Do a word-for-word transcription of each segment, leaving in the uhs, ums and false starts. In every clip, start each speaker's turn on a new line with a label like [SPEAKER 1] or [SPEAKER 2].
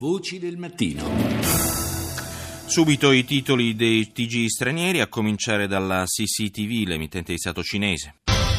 [SPEAKER 1] Voci del mattino.
[SPEAKER 2] Subito i titoli dei T G stranieri, a cominciare dalla C C T V, l'emittente di Stato cinese.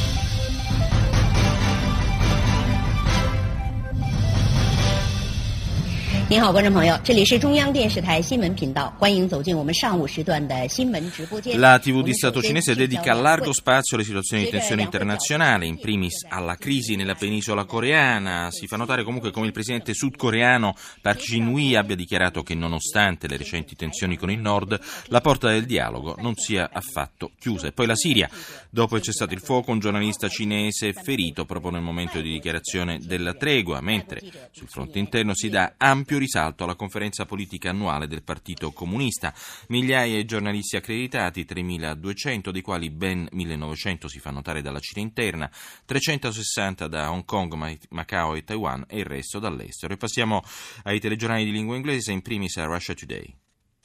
[SPEAKER 3] 您好，观众朋友，这里是中央电视台新闻频道，欢迎走进我们上午时段的新闻直播间。
[SPEAKER 2] La tivù di Stato cinese dedica largo spazio alle situazioni di tensione internazionale, in primis alla crisi nella penisola coreana. Si fa notare comunque come il presidente sudcoreano Park Jin-woo abbia dichiarato che nonostante le recenti tensioni con il nord, la porta del dialogo non sia affatto chiusa. E poi la Siria. Dopo il cessato il fuoco, un giornalista cinese ferito proprio nel momento di dichiarazione della tregua, mentre sul fronte interno si dà ampio risalto alla conferenza politica annuale del Partito Comunista. Migliaia di giornalisti accreditati, tremiladuecento, dei quali ben millenovecento si fa notare dalla Cina interna, trecentosessanta da Hong Kong, Macao e Taiwan e il resto dall'estero. E passiamo ai telegiornali di lingua inglese, in primis a Russia Today.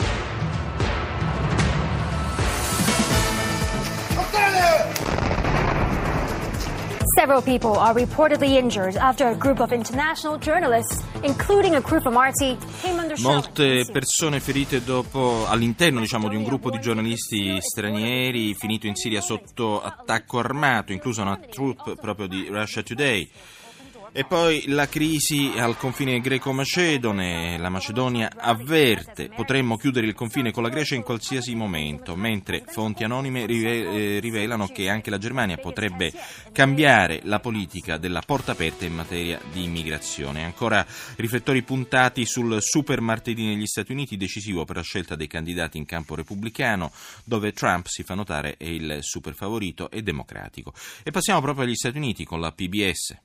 [SPEAKER 4] Several people are reportedly injured after a group of international journalists, including a crew from R T, came under shell.
[SPEAKER 2] Molte persone ferite dopo, all'interno diciamo, di un gruppo di giornalisti stranieri finito in Siria sotto attacco armato, inclusa una troupe proprio di Russia Today. E poi la crisi al confine greco-macedone. La Macedonia avverte: potremmo chiudere il confine con la Grecia in qualsiasi momento, mentre fonti anonime rivelano che anche la Germania potrebbe cambiare la politica della porta aperta in materia di immigrazione. Ancora riflettori puntati sul super martedì negli Stati Uniti, decisivo per la scelta dei candidati in campo repubblicano, dove Trump, si fa notare, è il super favorito e democratico. E passiamo proprio agli Stati Uniti con la P B S.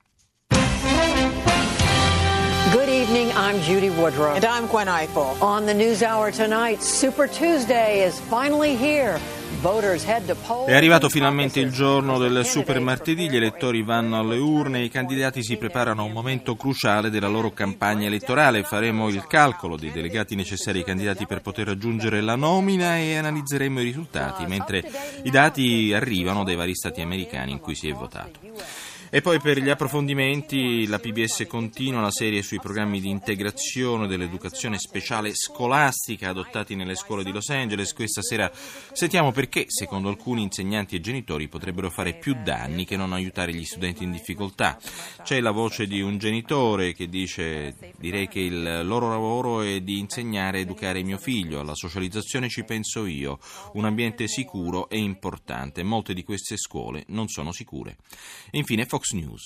[SPEAKER 5] Good evening, I'm Judy Woodruff.
[SPEAKER 6] And I'm Gwen Ifill.
[SPEAKER 5] On the News Hour tonight, Super Tuesday is finally here. Voters head to polls.
[SPEAKER 2] È arrivato finalmente il giorno del super martedì, gli elettori vanno alle urne e i candidati si preparano a un momento cruciale della loro campagna elettorale. Faremo il calcolo dei delegati necessari ai candidati per poter raggiungere la nomina e analizzeremo i risultati, mentre i dati arrivano dai vari stati americani in cui si è votato. E poi per gli approfondimenti la P B S continua la serie sui programmi di integrazione dell'educazione speciale scolastica adottati nelle scuole di Los Angeles. Questa sera sentiamo perché, secondo alcuni insegnanti e genitori, potrebbero fare più danni che non aiutare gli studenti in difficoltà. C'è la voce di un genitore che dice: direi che il loro lavoro è di insegnare e educare mio figlio, alla socializzazione ci penso io, un ambiente sicuro è importante, molte di queste scuole non sono sicure. E infine Fox News.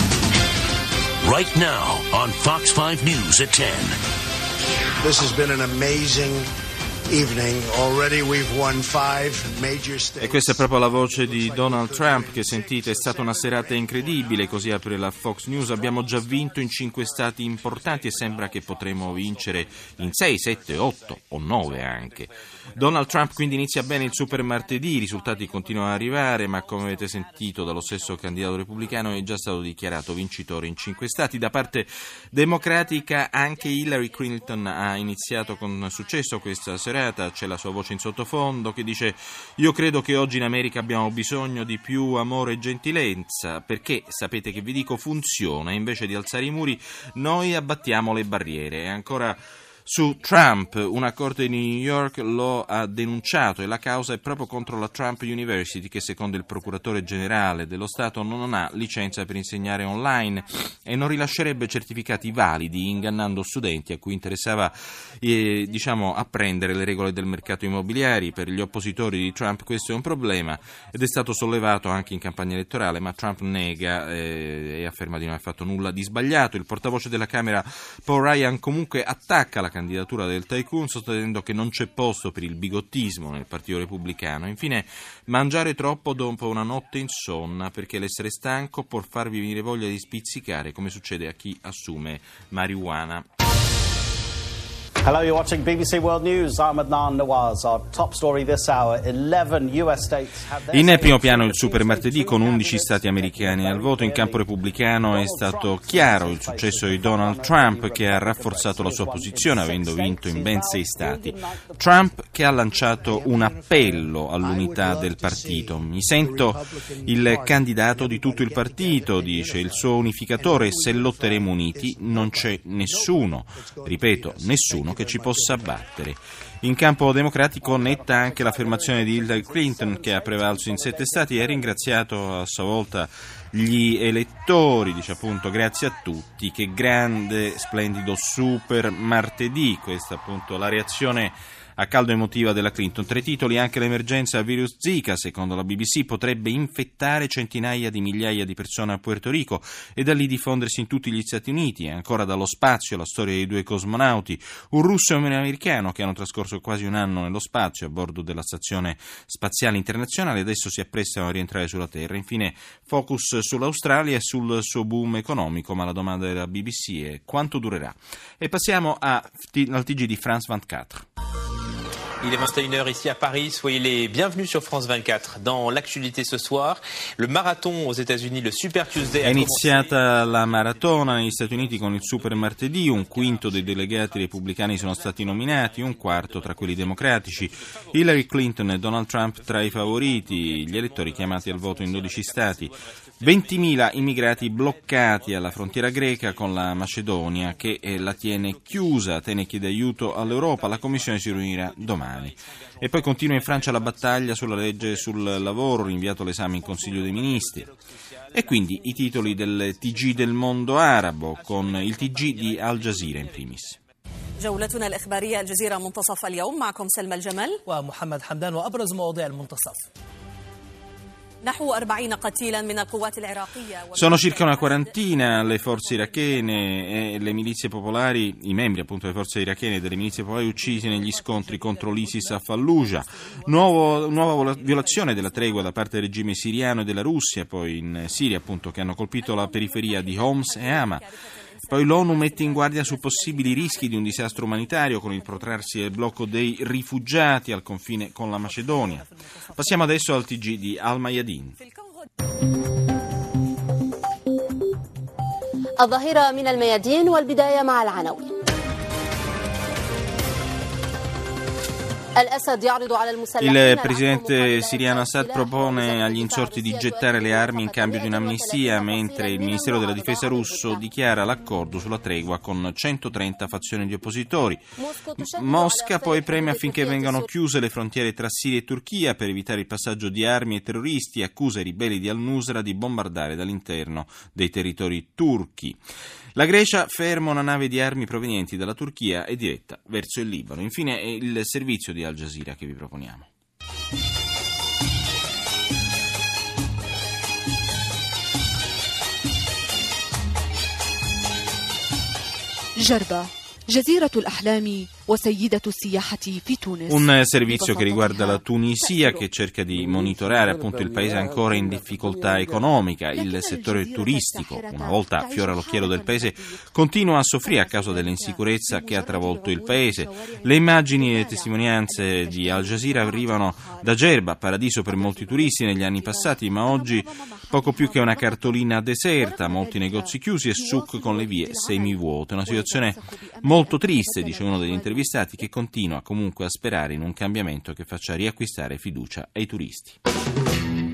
[SPEAKER 7] Right now on Fox five News at ten.
[SPEAKER 8] This has been an amazing evening. Already we've won five major states.
[SPEAKER 2] E questa è proprio la voce di Donald Trump che sentite. È stata una serata incredibile, così apre la Fox News. Abbiamo già vinto in cinque stati importanti e sembra che potremo vincere in sei, sette, otto o nove anche. Donald Trump quindi inizia bene il super martedì, i risultati continuano ad arrivare, ma come avete sentito dallo stesso candidato repubblicano è già stato dichiarato vincitore in cinque stati. Da parte democratica anche Hillary Clinton ha iniziato con successo questa serata. C'è la sua voce in sottofondo che dice: io credo che oggi in America abbiamo bisogno di più amore e gentilezza, perché sapete che vi dico funziona, invece di alzare i muri noi abbattiamo le barriere. E ancora su Trump, una corte di New York lo ha denunciato e la causa è proprio contro la Trump University, che secondo il procuratore generale dello Stato non ha licenza per insegnare online e non rilascerebbe certificati validi, ingannando studenti a cui interessava eh, diciamo apprendere le regole del mercato immobiliare. Per gli oppositori di Trump questo è un problema ed è stato sollevato anche in campagna elettorale, ma Trump nega eh, e afferma di non aver fatto nulla di sbagliato. Il portavoce della Camera Paul Ryan comunque attacca la candidatura del tycoon, sostenendo che non c'è posto per il bigottismo nel Partito Repubblicano. Infine, mangiare troppo dopo una notte insonna, perché l'essere stanco può farvi venire voglia di spizzicare, come succede a chi assume marijuana.
[SPEAKER 1] Hello, you're watching B B C World News. I'm Adnan Nawaz. Our top story this hour: eleven U S states have their
[SPEAKER 2] In primo piano il super martedì con undici stati americani al voto. In campo repubblicano è stato chiaro il successo di Donald Trump, che ha rafforzato la sua posizione avendo vinto in ben sei stati. Trump che ha lanciato un appello all'unità del partito. Mi sento il candidato di tutto il partito, dice il suo unificatore, e se lotteremo uniti non c'è nessuno, ripeto, nessuno che ci possa battere. In campo democratico netta anche l'affermazione di Hillary Clinton, che ha prevalso in sette stati e ha ringraziato a sua volta gli elettori, dice appunto grazie a tutti, che grande, splendido super martedì. Questa appunto la reazione a caldo emotiva della Clinton. Tre titoli: anche l'emergenza virus Zika, secondo la B B C, potrebbe infettare centinaia di migliaia di persone a Puerto Rico e da lì diffondersi in tutti gli Stati Uniti. E ancora dallo spazio la storia dei due cosmonauti, un russo e un americano che hanno trascorso quasi un anno nello spazio a bordo della Stazione Spaziale Internazionale, adesso si apprestano a rientrare sulla Terra. Infine focus sull'Australia e sul suo boom economico, ma la domanda della B B C è quanto durerà. E passiamo a, al T G di France ventiquattro.
[SPEAKER 6] Il est vingt et une heures ici à Paris, soyez les bienvenus sur France vingt-quatre. Dans l'actualité ce soir, le marathon aux États-Unis, le Super Tuesday.
[SPEAKER 2] È iniziata la maratona negli Stati Uniti con il Super Martedì, un quinto dei delegati repubblicani sono stati nominati, un quarto tra quelli democratici, Hillary Clinton e Donald Trump tra i favoriti, gli elettori chiamati al voto in dodici stati. ventimila immigrati bloccati alla frontiera greca con la Macedonia, che la tiene chiusa. Atene chiede aiuto all'Europa, la Commissione si riunirà domani. E poi continua in Francia la battaglia sulla legge sul lavoro, rinviato l'esame in Consiglio dei Ministri. E quindi i titoli del T G del mondo arabo, con il T G di Al Jazeera in primis.
[SPEAKER 9] جولتنا الإخبارية الجزيرة منتصف اليوم معكم سلمى الجمل
[SPEAKER 10] ومحمد حمدان وأبرز مواضيع المنتصف.
[SPEAKER 2] Sono circa una quarantina le forze irachene e le milizie popolari, i membri appunto delle forze irachene e delle milizie popolari uccisi negli scontri contro l'ISIS a Fallujah. Nuovo, nuova violazione della tregua da parte del regime siriano e della Russia, poi in Siria appunto, che hanno colpito la periferia di Homs e Hama. Poi l'ONU mette in guardia su possibili rischi di un disastro umanitario con il protrarsi del blocco dei rifugiati al confine con la Macedonia. Passiamo adesso al T G di Al Mayadin.
[SPEAKER 11] الظهيرة من الميادين والبداية مع العناوين.
[SPEAKER 2] Il presidente siriano Assad propone agli insorti di gettare le armi in cambio di un'amnistia, mentre il Ministero della Difesa russo dichiara l'accordo sulla tregua con centotrenta fazioni di oppositori. Mosca poi premia affinché vengano chiuse le frontiere tra Siria e Turchia per evitare il passaggio di armi e terroristi e accusa i ribelli di al-Nusra di bombardare dall'interno dei territori turchi. La Grecia ferma una nave di armi provenienti dalla Turchia e diretta verso il Libano. Infine è il servizio di Al Jazeera che vi proponiamo.
[SPEAKER 12] Jarba, جزيرة الأحلام وسيدة السياحة في تونس.
[SPEAKER 2] Un servizio che riguarda la Tunisia, che cerca di monitorare appunto il paese ancora in difficoltà economica. Il settore turistico, una volta fiore all'occhiello del paese, continua a soffrire a causa dell'insicurezza che ha travolto il paese. Le immagini e le testimonianze di Al Jazeera arrivano da Gerba, paradiso per molti turisti negli anni passati, ma oggi poco più che una cartolina deserta, molti negozi chiusi e souk con le vie semivuote. Una situazione molto triste, dice uno degli intervistati, che continua comunque a sperare in un cambiamento che faccia riacquistare fiducia ai turisti.